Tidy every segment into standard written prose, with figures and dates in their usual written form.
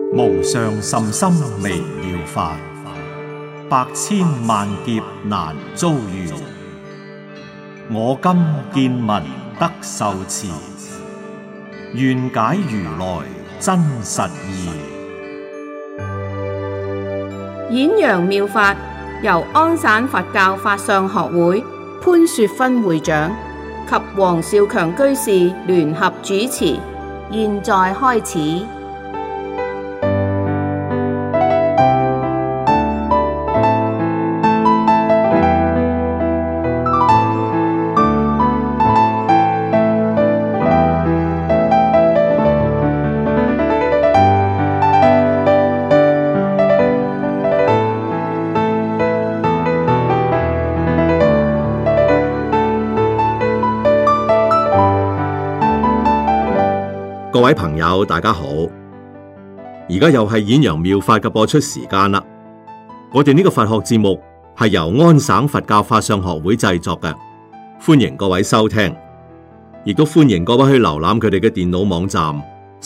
無上甚深微妙法，百千萬劫難遭遇。我今見聞得受持，願解如來真實義。 演揚妙法由安省佛教法相學會潘雪芬會長及黃少強居士聯合主持，現在開始。 各位朋友，大家好！而家又係演揚妙法嘅播出時間啦。我哋呢個佛學節目係由安省佛教法相學會製作嘅，歡迎各位收聽，亦都歡迎各位去瀏覽佢哋嘅電腦網站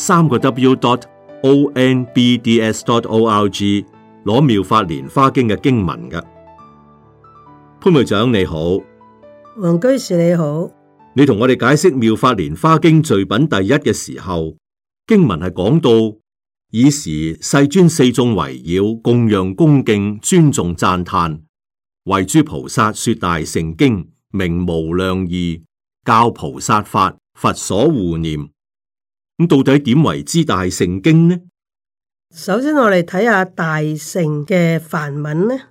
3個W.onbds.org 攞妙法蓮花經嘅經文嘅。潘會長你好， 黃居士你好。 你同我哋解釋《妙法蓮華經》序品第一嘅時候，經文係講到，爾時世尊四眾圍繞供養恭敬尊重讚歎，為諸菩薩說大乘經，名無量義，教菩薩法，佛所護念。咁到底點為之大乘經呢？ 首先我哋睇下大乘嘅梵文呢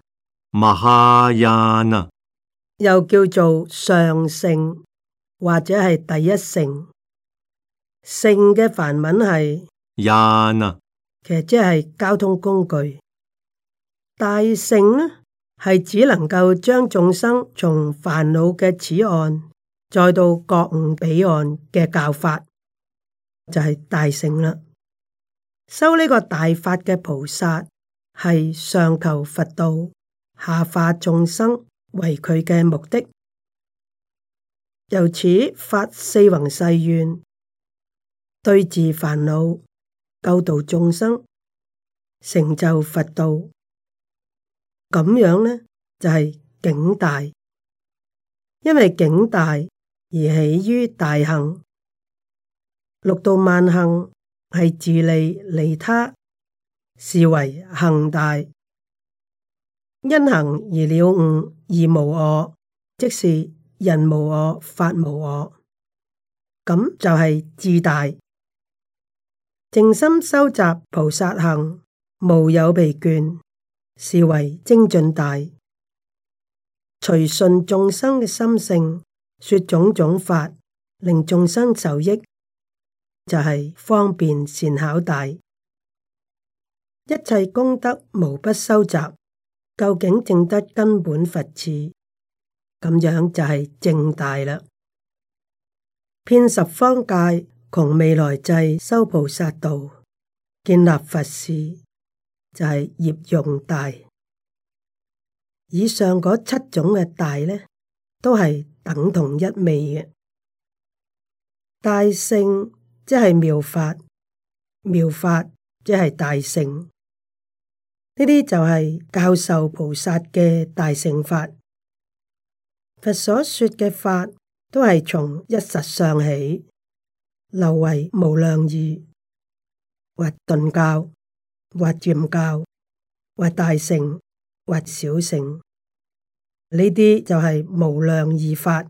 ，Mahayana， 又叫做上乘，或者係第一乘。乘嘅梵文係 Yana， 其實即係交通工具。大乘呢係只能夠將眾生從煩惱嘅此岸再到覺悟彼岸嘅教法，就係大乘啦。修呢個大法嘅菩薩係上求佛道，下化眾生為佢嘅目的。由此發四弘誓願，對治煩惱，救度眾生，成就佛道。咁樣呢就係境大，因為境大而起於大行。六度萬行係自利利他，是為行大。因行而了悟，而無我，即是人無我，法無我，咁就係智大。靜心收集菩薩行，無有疲倦，是為精進大。隨順眾生嘅心性，說種種法，令眾生受益，就係方便善巧大。一切功德無不收集，究竟證得根本佛智。咁樣就係正大啦，遍十方界，窮未來際，修菩薩道，建立佛事，就係業用大。以上嗰七種嘅大呢，都係等同一味嘅。大乘即係妙法，妙法即係大乘。呢啲就係教授菩薩嘅大乘法。佛所說嘅法都係從一實相起，流為無量義，或頓教，或漸教，或大乘，或小乘。呢啲就係無量義法。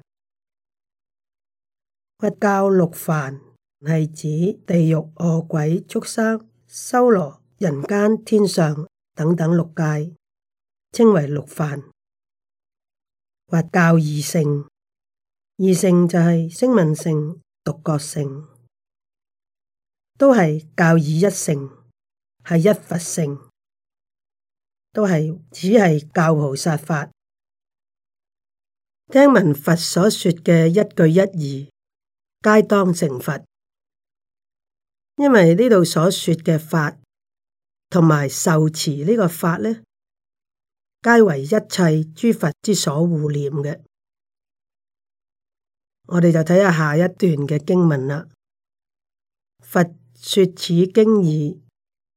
佛教六梵係指地獄、餓鬼、畜生、修羅、人間、天上等等六界，稱為六梵。或教二乘，二乘就係聲聞乘、獨覺乘，都係教以一乘，係一佛乘，都係只係教菩薩法。聽聞佛所說嘅一句一義，皆當成佛。因為呢度所說嘅法，同埋受持呢個法呢，皆為一切諸佛之所護念嘅。我哋就睇下下一段嘅經文啦。佛說此經已，結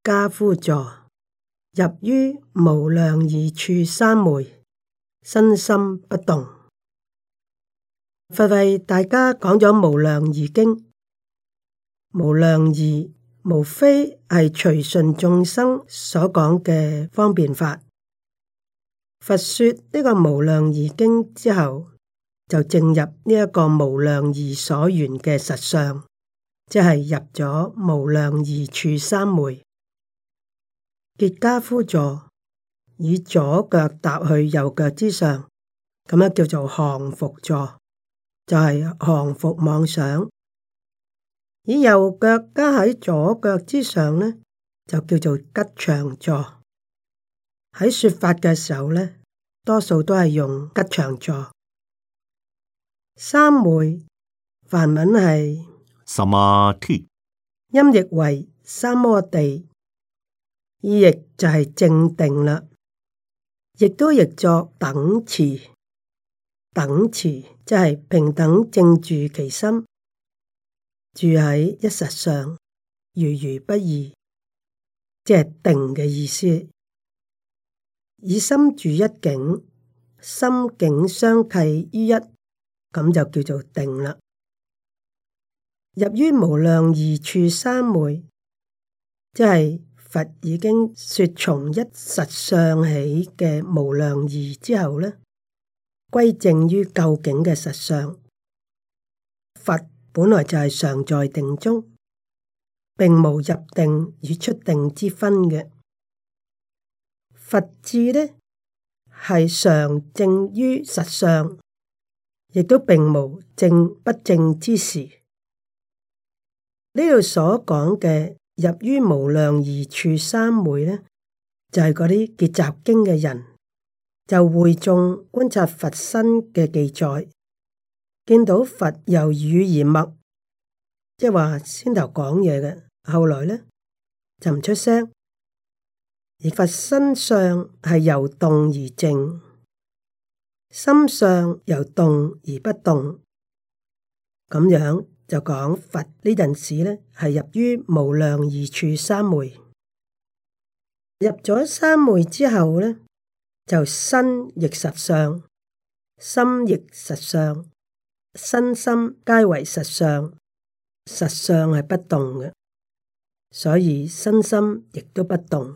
跏趺坐，入於無量義處三昧，身心不動。佛為大家講咗無量義經，無量義無非係隨順眾生所講嘅方便法。佛說呢個無量義經之後，就證入呢一個無量義所緣嘅實相，即係入咗無量義處三昧。結跏趺坐，以左腳踏去右腳之上，咁樣叫做降伏坐，就係降伏妄想。以右腳加喺左腳之上呢，就叫做吉祥坐。喺說法嘅時候呢，多數都係用吉祥坐。三昧梵文係 Samadhi， 音譯為三摩地，意譯就係正定啦，亦都譯作等持。等持即係平等正住其心，住喺一實上，如如不異，即係定嘅意思。以心住一境，心境相契於一，咁就叫做定啦。入於無量義處三昧，即係佛已經說從一實相起嘅無量義之後呢，歸正於究竟嘅實相。佛本來就係常在定中，並無入定與出定之分嘅。佛智呢係常正於實相，亦都並無正不正之時。呢度所講嘅入於無量義處三昧呢，就係嗰啲結集經嘅人，就會眾觀察佛身嘅記載，見到佛由語而默，即係話先頭講嘢嘅，後來呢就唔出聲。而佛身相係由動而靜，心相由動而不動，咁樣就講佛呢陣時呢係入於無量義處三昧。入咗三昧之後呢，就身亦實相，心亦實相，身心皆為實相，實相係不動嘅，所以身心亦都不動。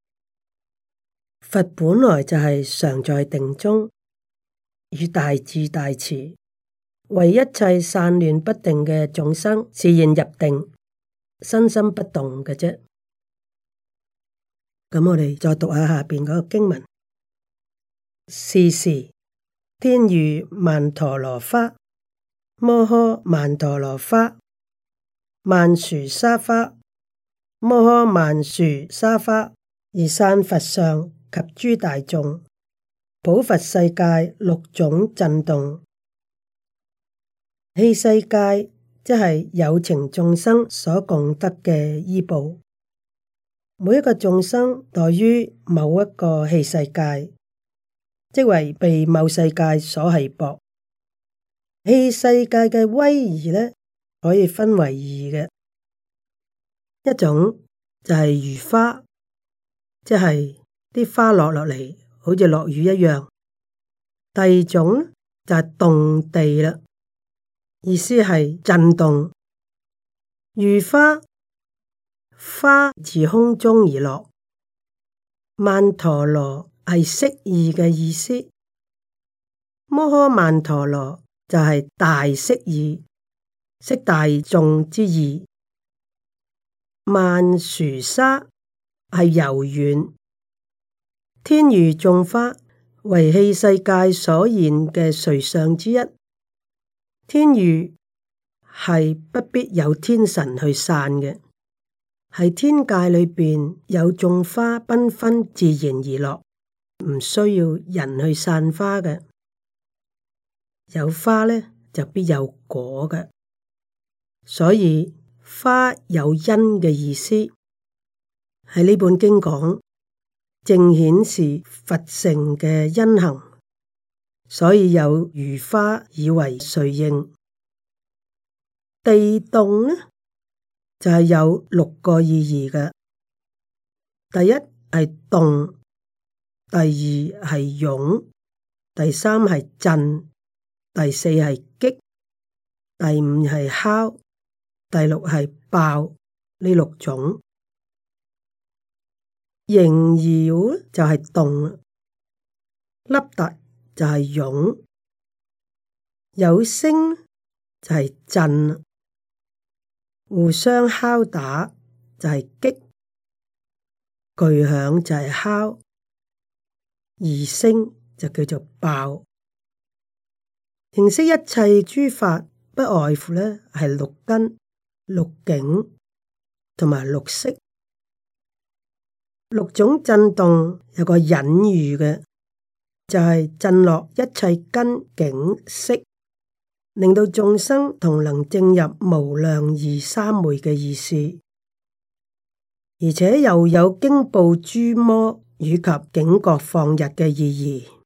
佛本來就係常在定中，與大智大慈，為一切散亂不定嘅眾生示現入定，身心不動嘅啫。咁我哋再讀下下邊嗰個經文。是時天雨曼陀羅花，摩訶曼陀羅花，曼殊沙花，摩訶曼殊沙花，而散佛上及諸大眾，普佛世界六種震動。器世界即係有情眾生所共得嘅依報，每一個眾生待於某一個器世界，即為被某世界所繫縛。器世界嘅威儀呢，可以分為二嘅，一種就係如花，即係啲花落落嚟，好似落雨一樣。第二種就係動地啦，意思係震動。如花，花自空中而落，曼陀羅係釋義嘅意思。摩訶曼陀羅就係大釋義，釋大眾之意。曼殊沙係柔軟。天雨眾花為器世界所現嘅瑞相之一。天雨係不必有天神去散嘅，係天界裏邊有眾花繽紛自然而落，唔需要人去散花嘅。有花呢，就必有果嘅，所以花有因嘅意思。喺呢本經講，正顯示佛乘嘅因行，所以有如花以為瑞應。地動呢，就係有六個意義嘅。 第一係動，第二係勇，第三係震，第四係擊，第五係敲，第六係爆，呢六種。形搖就係動，凹凸就係勇，有聲就係震，互相敲打就係擊，巨響就係敲，異聲就叫做爆。認識一切諸法，不外乎呢係六根、六境同埋六識。六種震動有個隱喻嘅，就係震落一切根境識，令到眾生同能證入無量義三昧嘅意思，而且又有驚怖諸魔以及警覺放逸嘅意義。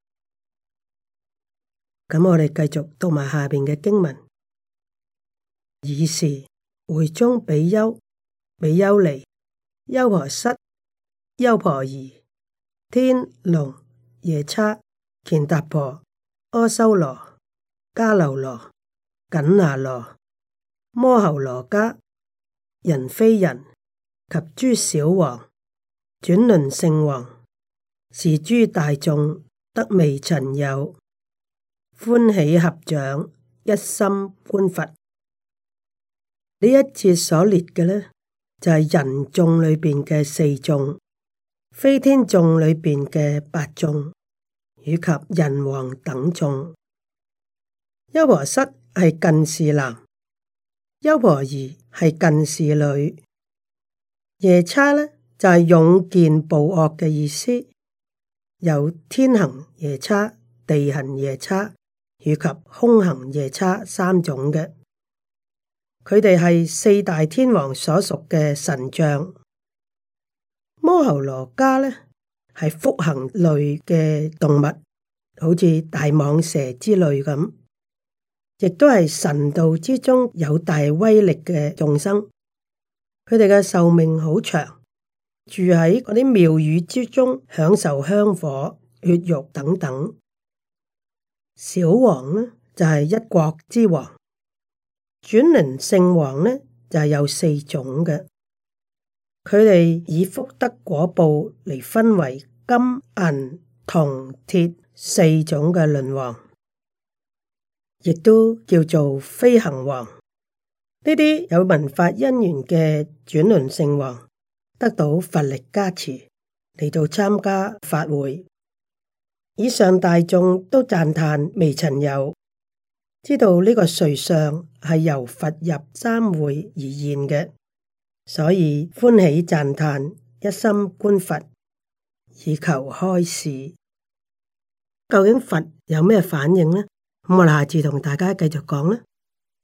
咁我哋繼續讀埋下邊嘅經文。爾時會中比丘、比丘尼、優婆塞、優婆夷、天龍、夜叉、乾達婆、阿修羅、迦樓羅、緊那羅、摩睺羅伽、人非人及諸小王、轉輪聖王，是諸大眾得未曾有，歡喜合掌，一心觀佛。呢一節所列嘅呢，就係人眾裏邊嘅四眾，非天眾裏邊嘅八眾，以及人王等眾。優婆塞係近事男，優婆夷係近事女，夜叉呢就係勇健暴惡嘅意思，有天行夜叉、地行夜叉以及空行夜叉三種嘅。佢哋係四大天王所屬嘅神像。摩睺羅伽呢係腹行類嘅動物，好似大蟒蛇之類咁，亦都係神道之中有大威力嘅眾生。佢哋嘅壽命好長，住喺嗰啲廟宇之中，享受香火、血肉等等。小王呢就係一國之王。轉輪聖王呢就係有四種嘅，佢哋以福德果報嚟分為金、銀、銅、鐵四種嘅輪王，亦都叫做飛行王。呢啲有文法因緣嘅轉輪聖王得到佛力加持嚟到參加法會，以上大眾都讚歎未曾有。知道呢個瑞相係由佛入三會而現嘅，所以歡喜讚歎，一心觀佛，以求開示。究竟佛有咩反應呢？咁我哋下次同大家繼續講啦。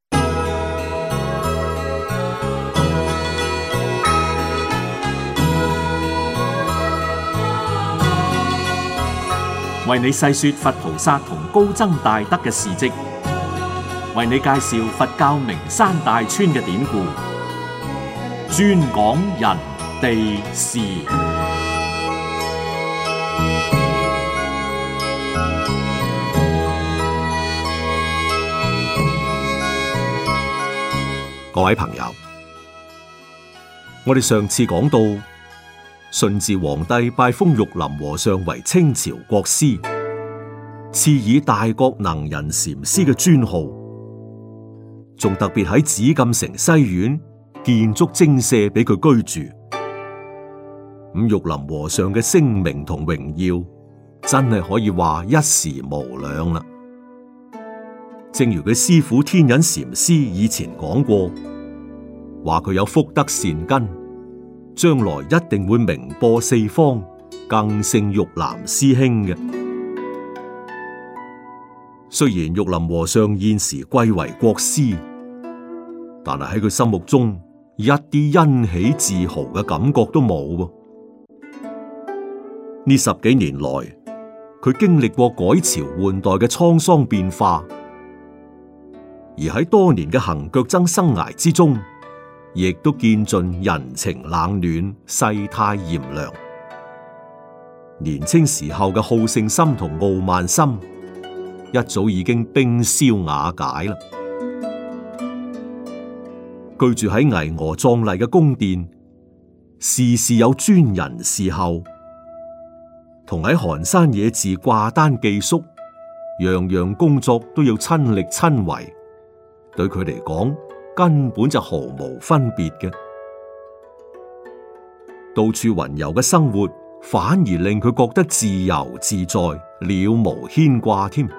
為你細說佛菩薩同高僧大德嘅事跡，為你介紹佛教名山大川嘅典故，專講人地事。 各位朋友，我哋上次講到，順治皇帝拜封玉林和尚為清朝國師，賜以大覺能人禪師嘅尊號。仲特別喺紫禁城西苑建築精舍俾佢居住。咁玉林和尚嘅聲名同榮耀，真係可以話一時無兩啦。正如佢師父天隱禪師以前講過，話佢有福德善根，將來一定會名播四方，更勝玉林師兄嘅。雖然玉林和尚現時貴為國師，但係喺佢心目中一啲欣喜自豪嘅感覺都冇喎。呢10幾年來，佢經歷過改朝換代嘅滄桑變化，而喺多年嘅行腳僧生涯之中，亦都見盡人情冷暖、世態炎涼、 年青時候嘅好勝心同傲慢心，一早已經冰消瓦解啦。居住喺巍峨壯麗嘅宮殿，事事有專人侍候，同喺寒山野寺掛單寄宿，樣樣工作都要親力親為，對佢嚟講根本就毫無分別嘅。到處雲遊嘅生活，反而令佢覺得自由自在，了無牽掛添。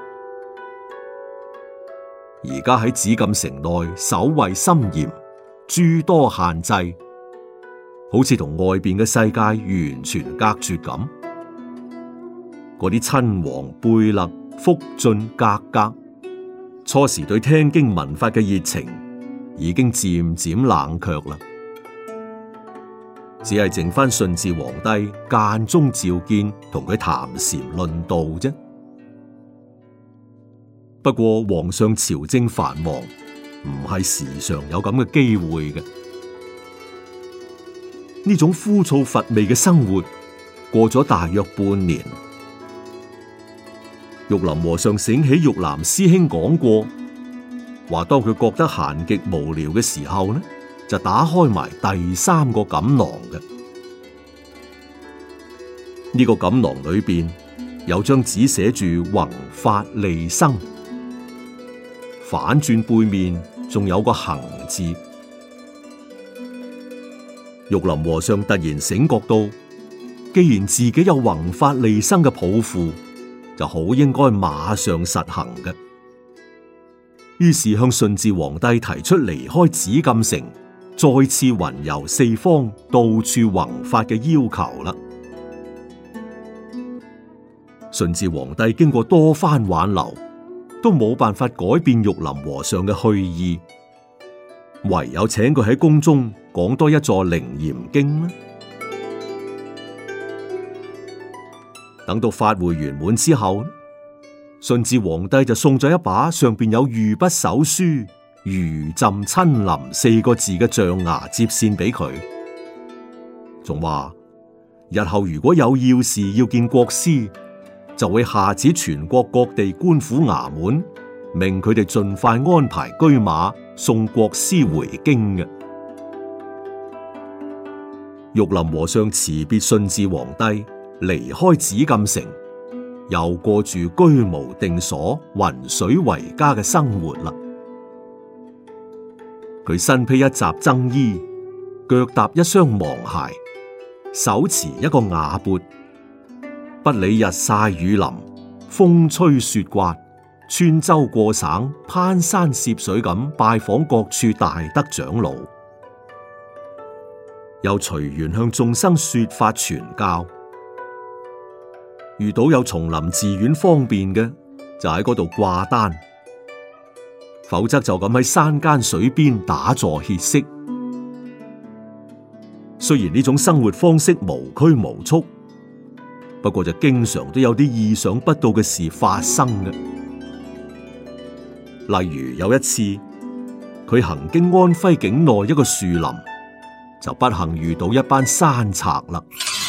而家喺紫禁城內守衛森嚴，諸多限制，好似同外邊嘅世界完全隔絕咁。嗰啲親王貝勒、福晉、格格，初時對聽經聞法嘅熱情已經漸漸冷卻啦，只係剩翻順治皇帝間中召見，同佢談禪論道啫。不過皇上朝政繁忙，唔係時常有咁嘅機會嘅。呢種枯燥乏味嘅生活過咗大約半年，玉林和尚醒起玉蘭師兄講過，話當佢覺得閒極無聊嘅時候呢，就打開埋第三個錦囊嘅。呢個錦囊裏邊有張紙寫住宏法利生，反轉背面仲有個行字。玉林和尚突然醒覺到，既然自己有宏法利生嘅抱負，就好應該馬上實行嘅。於是向順治皇帝提出離開紫禁城，再次雲遊四方，到處宏法嘅要求啦。順治皇帝經過多番挽留，都冇辦法改變玉林和尚嘅去意，唯有請佢喺宮中講多一座楞嚴經啦。等到法會圓滿之後，順治皇帝就送咗一把上邊有御筆手書「如朕親臨」四個字嘅象牙接線俾佢，仲話日後如果有要事要見國師，就會下旨全國各地官府衙門，命佢哋盡快安排車馬送國師回京嘅。玉林和尚辭別順治皇帝，離開紫禁城，又過住居無定所、雲水為家嘅生活啦。佢身披一襲僧衣，腳踏一雙芒鞋，手持一個瓦鉢，不理日曬雨淋、風吹雪刮，穿州過省、攀山涉水咁拜訪各處大德長老，又隨緣向眾生說法傳教。遇到有叢林寺院方便嘅，就喺嗰度掛單；否則就咁喺山間水邊打坐歇息。雖然呢種生活方式無拘無束，不過就經常都有啲意想不到嘅事發生嘅。例如有一次，佢行經安徽境內一個樹林，就不幸遇到一班山賊啦。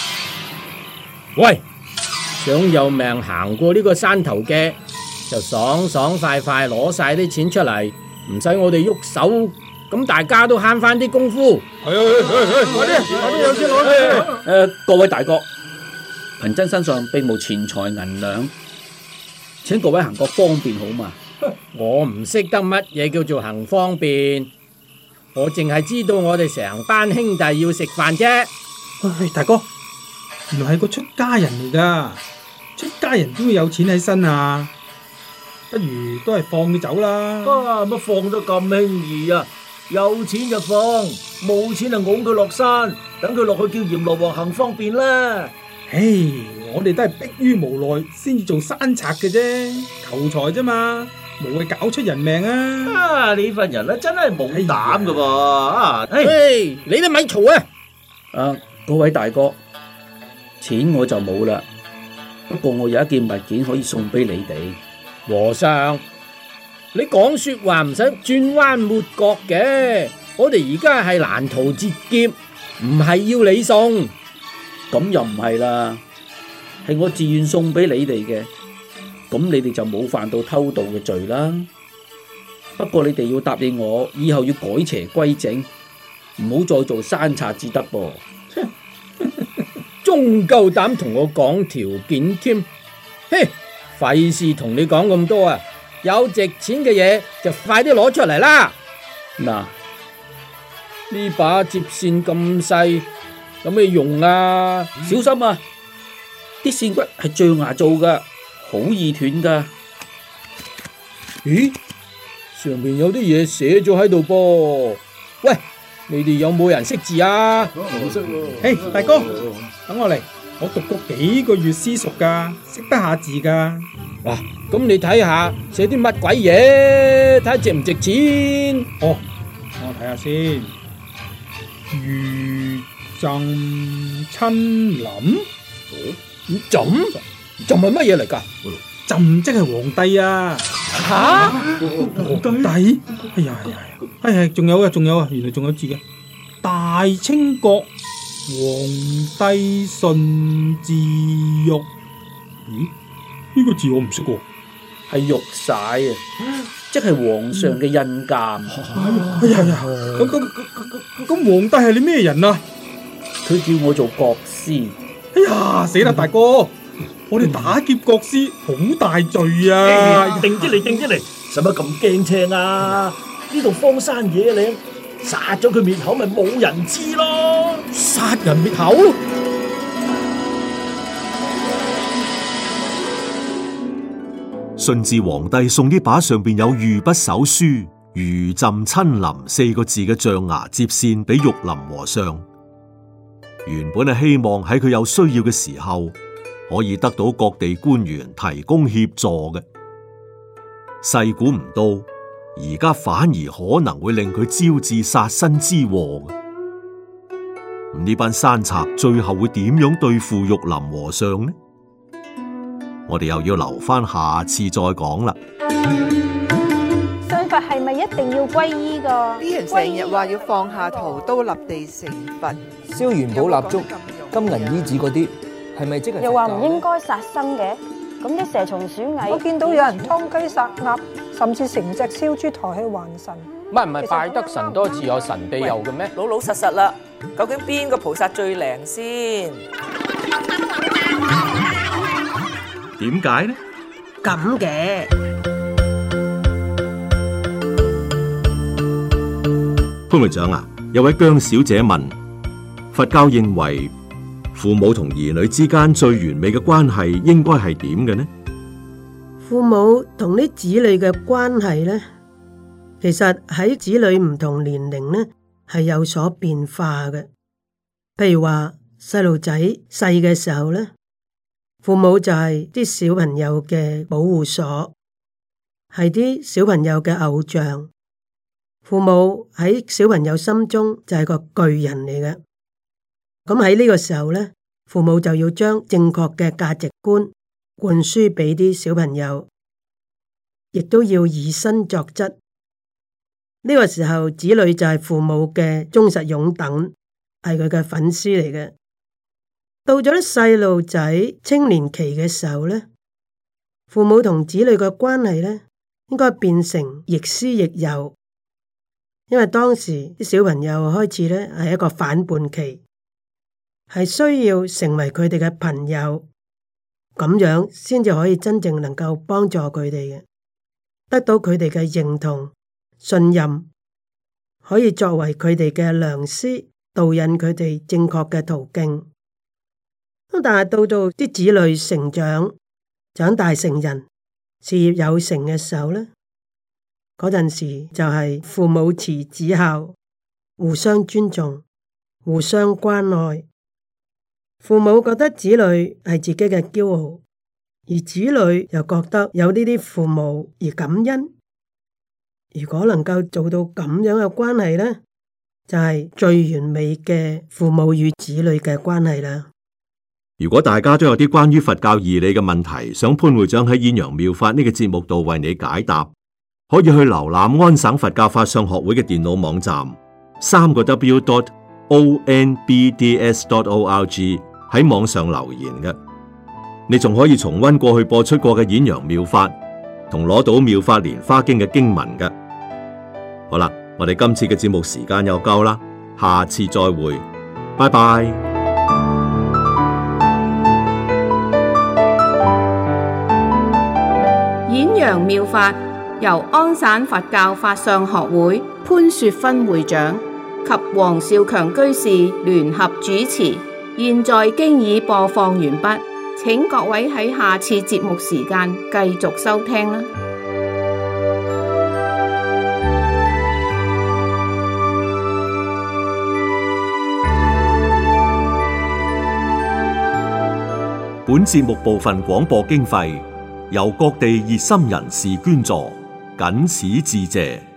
喂！想有命行過呢個山頭嘅，就爽爽快快攞晒啲錢出嚟，唔使我哋喐手，咁大家都慳翻啲功夫。 快啲有錢攞。 各位大哥，貧僧身上並無錢財銀兩，請各位行個方便好嘛？我唔識得乜嘢叫做行方便，我淨係知道我哋成班兄弟要食飯啫。 喂，大哥，原來係個出家人嚟噶，出家人都會有錢喺身啊，不如都係放佢走啦。 乜放得咁輕易啊？有錢就放，冇錢就拱佢落山，等佢落去叫閻羅王行方便啦。 唉，我哋都係迫於無奈先至做山賊嘅啫，求財啫嘛，無謂搞出人命啊！ 你份人咧真係冇膽噶噃！ 嘿，你都咪嘈啊！各位大哥，錢我就冇啦，不過我有一件物件可以送俾你哋。和尚，你講說話唔使轉彎抹角嘅，我哋而家係攔途截劫，唔係要你送。咁又唔係啦， 係我自願送俾你哋嘅，咁你哋就冇犯到偷盜嘅罪啦。不過你哋要答應我，以後要改邪歸正，唔好再做山賊至得噃。 仲夠膽同我講條件添？嘿，費事同你講咁多啊！有值錢嘅嘢就快啲攞出嚟啦！ 嗱， 呢把接線咁細，有咩用啊？ 小心啊！啲線骨係象牙做噶，好易斷噶。 咦？上面有啲嘢寫咗喺度噃。喂，你哋有冇人識字啊？ 我識喎。嘿，大哥，等我嚟，我讀過幾個月私塾噶，識得下字噶。 哇，咁你睇下寫啲乜鬼嘢，睇下值唔值錢？ 哦，我睇下先。如朕親臨， 朕係乜嘢嚟噶？ 朕即係皇帝啊！ 吓， 皇帝？哎呀，係，仲有啊，原來仲有字嘅。大清國皇帝順治玉。咦？呢個字我唔識喎。 係玉璽啊，即係皇上嘅印鑑。 哎呀，咁皇帝係你咩人啊？ 佢叫我做國師。 哎呀，死啦，大哥！我哋打劫國師好大罪啊！ 定啲嚟，使乜咁驚青啊？呢度荒山野嶺，殺咗佢滅口咪冇人知咯！ 殺人滅口？ 順治皇帝送呢把上邊有御筆手書「如朕親臨」4個字嘅象牙接線俾玉林和尚，原本係希望喺佢有需要嘅時候可以得到各地官員提供協助嘅，細估唔到而家反而可能會令佢招致殺身之禍嘅。呢班山賊最後會點樣對付玉林和尚呢？我哋又要留翻下次再講啦。 信佛係咪一定要皈依㗎？ 啲人成日話要放下屠刀立地成佛， 燒元寶蠟燭、金銀衣紙嗰啲，係咪即係？ 又話唔應該殺生嘅，咁啲蛇蟲鼠蟻， 我見到有人劏雞殺鴨，甚至成隻燒豬抬去還神。 唔係拜得神多自有神庇佑嘅咩？ 老實實啦，究竟邊個菩薩最靈先？ 點解呢？ 咁嘅潘會長啊，有位姜小姐問：佛教認為父母同兒女之間最完美嘅關係應該係點嘅呢？ 父母同啲子女嘅關係呢，其實喺子女唔同年齡呢係有所變化嘅。譬如話細路仔細嘅時候呢，父母就係啲小朋友嘅保護所，係啲小朋友嘅偶像。父母喺小朋友心中就係個巨人嚟嘅。咁喺呢個時候呢，父母就要將正確嘅價值觀灌輸俾啲小朋友，亦都要以身作則。呢個時候，子女就係父母嘅忠實擁躉，係佢嘅粉絲嚟嘅。到咗啲細路仔青年期嘅時候呢，父母同子女嘅關係呢，應該變成亦師亦友，因為當時啲小朋友開始呢係一個反叛期，係需要成為佢哋嘅朋友，咁樣先至可以真正能夠幫助佢哋嘅，得到佢哋嘅認同、信任，可以作為佢哋嘅良師，導引佢哋正確嘅途徑。咁但係到啲子女成長、長大成人、事業有成嘅時候呢，嗰陣時就係父母慈子孝，互相尊重、互相關愛。父母覺得子女係自己嘅驕傲，而子女又覺得有呢啲父母而感恩。如果能夠做到咁樣嘅關係呢，就係最完美嘅父母與子女嘅關係啦。 如果大家都有啲關於佛教義理嘅問題，想潘會長喺《演揚妙法》呢個節目度為你解答，可以去瀏覽安省佛教法相學會嘅電腦網站，3個W.onbds.org 喺網上留言嘅。 你仲可以重溫過去播出過嘅演揚妙法，同攞到妙法蓮華經嘅經文嘅。好啦，我哋今次嘅節目時間又夠啦，下次再會，拜拜。 演揚妙法由安省佛教法相學會潘雪芬會長及黃少強居士聯合主持，現在經已播放完畢，請各位喺下次節目時間繼續收聽啦。 本節目部分廣播經費由各地熱心人士捐助，謹此致謝。